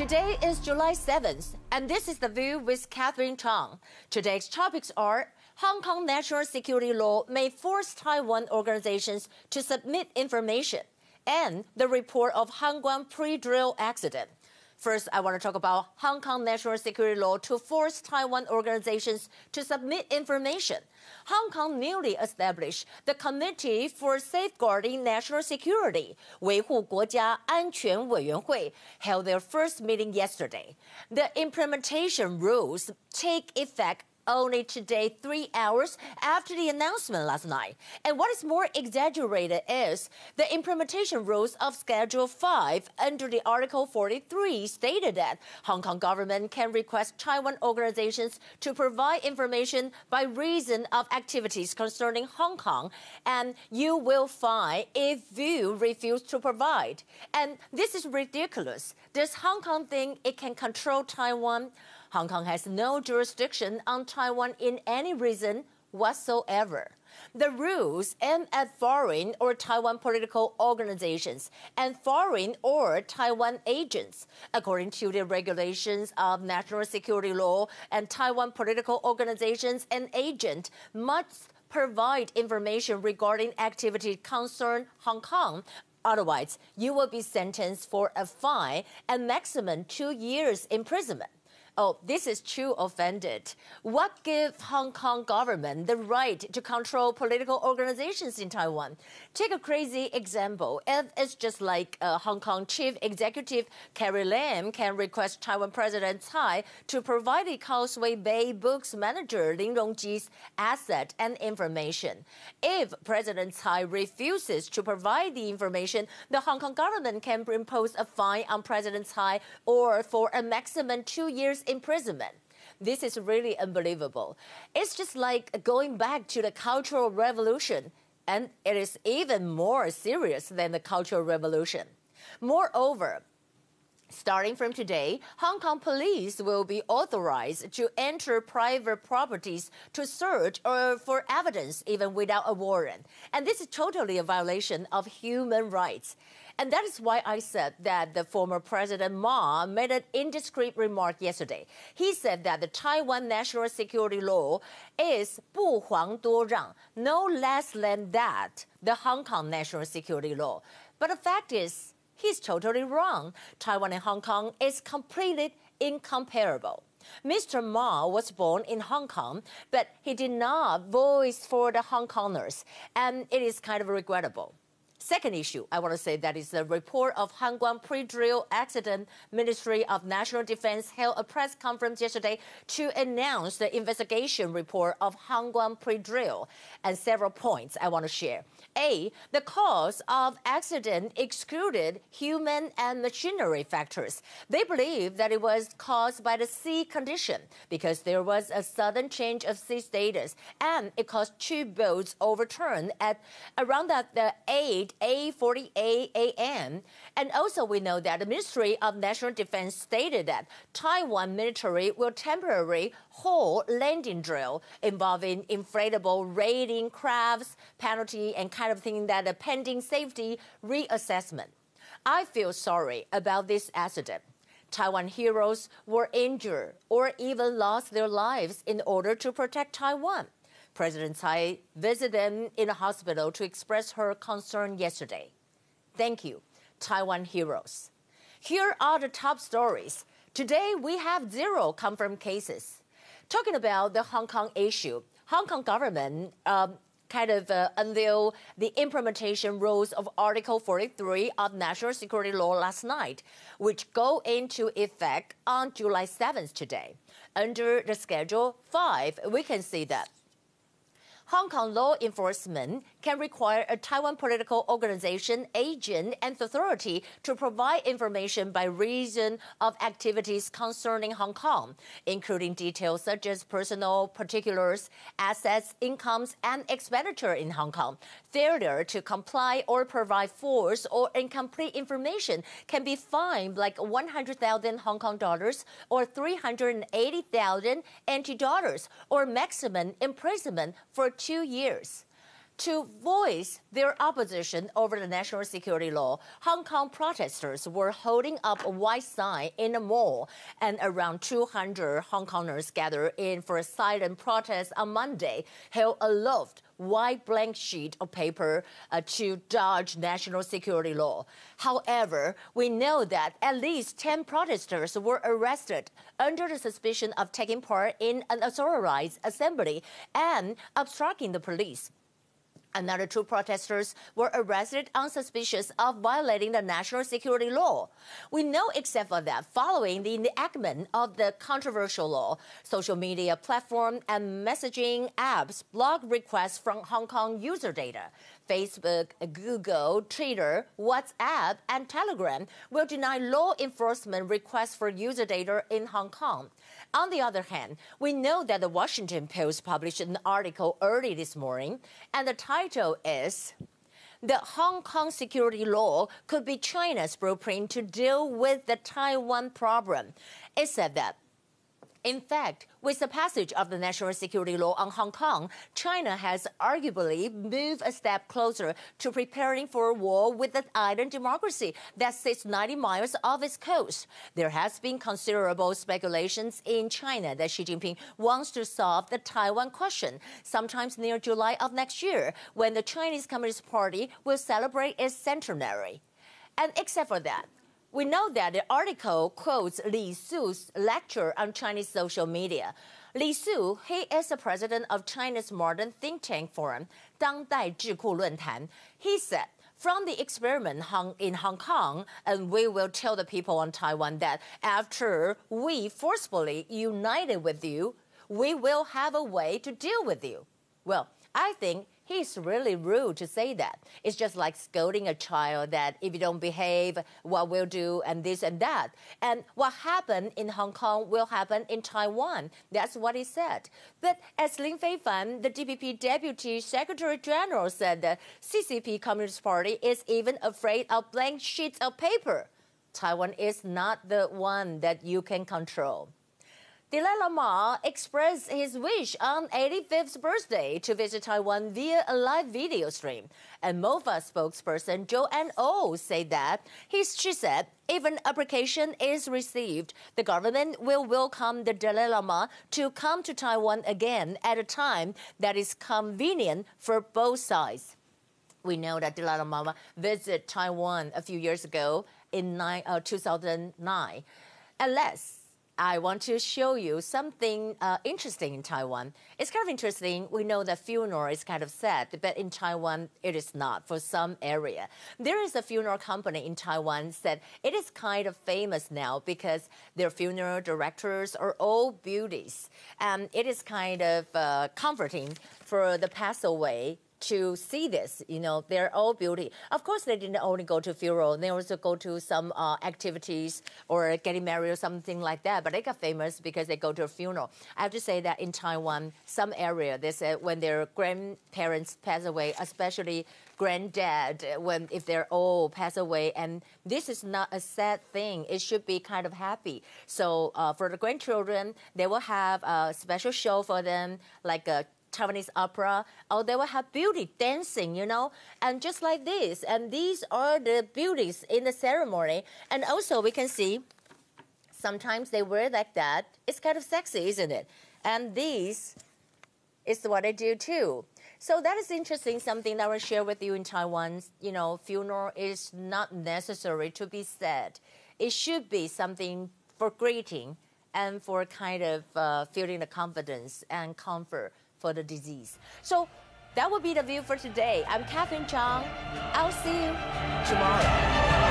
Today is July 7th, and this is The View with Catherine Chang. Today's topics are Hong Kong national security law may force Taiwan organizations to submit information, and the report of Hanguang pre-drill accident. First, I want to talk about Hong Kong national security law to force Taiwan organizations to submit information. Hong Kong newly established the Committee for Safeguarding National Security, 维护国家安全委员会, held their first meeting yesterday. The implementation rules take effect only today, 3 hours after the announcement last night. And what is more exaggerated is the implementation rules of Schedule 5 under the Article 43 stated that Hong Kong government can request Taiwan organizations to provide information by reason of activities concerning Hong Kong, and you will fine if you refuse to provide. And this is ridiculous. Does Hong Kong think it can control Taiwan? Hong Kong has no jurisdiction on Taiwan in any reason whatsoever. The rules aim at foreign or Taiwan political organizations and foreign or Taiwan agents. According to the regulations of national security law, and Taiwan political organizations and agents must provide information regarding activity concern Hong Kong. Otherwise, you will be sentenced for a fine and maximum 2 years imprisonment. Oh, this is too offended. What gives Hong Kong government the right to control political organizations in Taiwan? Take a crazy example. If it's just like Hong Kong Chief Executive Carrie Lam can request Taiwan President Tsai to provide the Causeway Bay Books manager Lin Rongji's asset and information. If President Tsai refuses to provide the information, the Hong Kong government can impose a fine on President Tsai or for a maximum 2 years imprisonment. This is really unbelievable. It's just like going back to the Cultural Revolution, and it is even more serious than the Cultural Revolution. Moreover, starting from today, Hong Kong police will be authorized to enter private properties to search or for evidence even without a warrant. And this is totally a violation of human rights. And that is why I said that the former President Ma made an indiscreet remark yesterday. He said that the Taiwan national security law is 不遑多让, no less than that, the Hong Kong national security law. But the fact is, he's totally wrong. Taiwan and Hong Kong is completely incomparable. Mr. Ma was born in Hong Kong, but he did not voice for the Hong Kongers, and it is kind of regrettable. Second issue I want to say that is the report of Hanguang pre-drill accident. Ministry of National Defense held a press conference yesterday to announce the investigation report of Hanguang pre-drill, and several points I want to share. A, the cause of accident excluded human and machinery factors. They believe that it was caused by the sea condition because there was a sudden change of sea status, and it caused 2 boats overturned at around the 8:48 a.m. And also we know that the Ministry of National Defense stated that Taiwan military will temporarily hold landing drill involving inflatable raiding crafts, penalty, and kind of thing that a pending safety reassessment. I feel sorry about this accident. Taiwan heroes were injured or even lost their lives in order to protect Taiwan. President Tsai visited them in a hospital to express her concern yesterday. Thank you, Taiwan heroes. Here are the top stories. Today, we have 0 confirmed cases. Talking about the Hong Kong issue, Hong Kong government unveiled the implementation rules of Article 43 of National Security Law last night, which go into effect on July 7th today. Under the Schedule 5, we can see that Hong Kong law enforcement can require a Taiwan political organization, agent, and authority to provide information by reason of activities concerning Hong Kong, including details such as personal particulars, assets, incomes, and expenditure in Hong Kong. Failure to comply or provide false or incomplete information can be fined like 100,000 Hong Kong dollars or 380,000 NT dollars or maximum imprisonment for 2 years. To voice their opposition over the national security law, Hong Kong protesters were holding up a white sign in a mall, and around 200 Hong Kongers gathered in for a silent protest on Monday, held aloft white blank sheet of paper to dodge national security law. However, we know that at least 10 protesters were arrested under the suspicion of taking part in an unauthorized assembly and obstructing the police. Another 2 protesters were arrested on suspicion of violating the national security law. We know, except for that, following the enactment of the controversial law, social media platform and messaging apps block requests from Hong Kong user data. Facebook, Google, Twitter, WhatsApp, and Telegram will deny law enforcement requests for user data in Hong Kong. On the other hand, we know that the Washington Post published an article early this morning, and the title is "The Hong Kong Security Law Could Be China's Blueprint to Deal with the Taiwan Problem." It said that, in fact, with the passage of the national security law on Hong Kong, China has arguably moved a step closer to preparing for a war with an island democracy that sits 90 miles off its coast. There has been considerable speculations in China that Xi Jinping wants to solve the Taiwan question, sometimes near July of next year, when the Chinese Communist Party will celebrate its centenary. And except for that, we know that the article quotes Li Su's lecture on Chinese social media. Li Su, he is the president of China's modern think tank forum, 当代智库论坛. He said, "From the experiment in Hong Kong, and we will tell the people on Taiwan that after we forcefully united with you, we will have a way to deal with you." Well, I think he's really rude to say that. It's just like scolding a child that if you don't behave, what we'll do, and this and that. And what happened in Hong Kong will happen in Taiwan. That's what he said. But as Lin Feifan, the DPP Deputy Secretary General, said, the CCP Communist Party is even afraid of blank sheets of paper. Taiwan is not the one that you can control. Dalai Lama expressed his wish on 85th birthday to visit Taiwan via a live video stream. And MOFA spokesperson Joanne Oh said that, she said, if an application is received, the government will welcome the Dalai Lama to come to Taiwan again at a time that is convenient for both sides. We know that Dalai Lama visited Taiwan a few years ago in 2009. Unless I want to show you something interesting in Taiwan. It's kind of interesting. We know that funeral is kind of sad, but in Taiwan, it is not for some area. There is a funeral company in Taiwan that it is kind of famous now because their funeral directors are all beauties. And it is kind of comforting for the passed away to see this. You know, they're all beauty. Of course, they didn't only go to funeral. They also go to some activities or getting married or something like that. But they got famous because they go to a funeral. I have to say that in Taiwan, some area, they said when their grandparents pass away, especially granddad, if they're old, pass away, and this is not a sad thing. It should be kind of happy. So for the grandchildren, they will have a special show for them, like a Taiwanese opera, or they will have beauty dancing, you know, and just like this. And these are the beauties in the ceremony. And also we can see sometimes they wear like that. It's kind of sexy, isn't it? And these is what they do too. So that is interesting, something that I will share with you in Taiwan. You know, funeral is not necessary to be sad. It should be something for greeting and for kind of feeling the confidence and comfort for the disease. So that will be the view for today. I'm Catherine Chang. I'll see you tomorrow.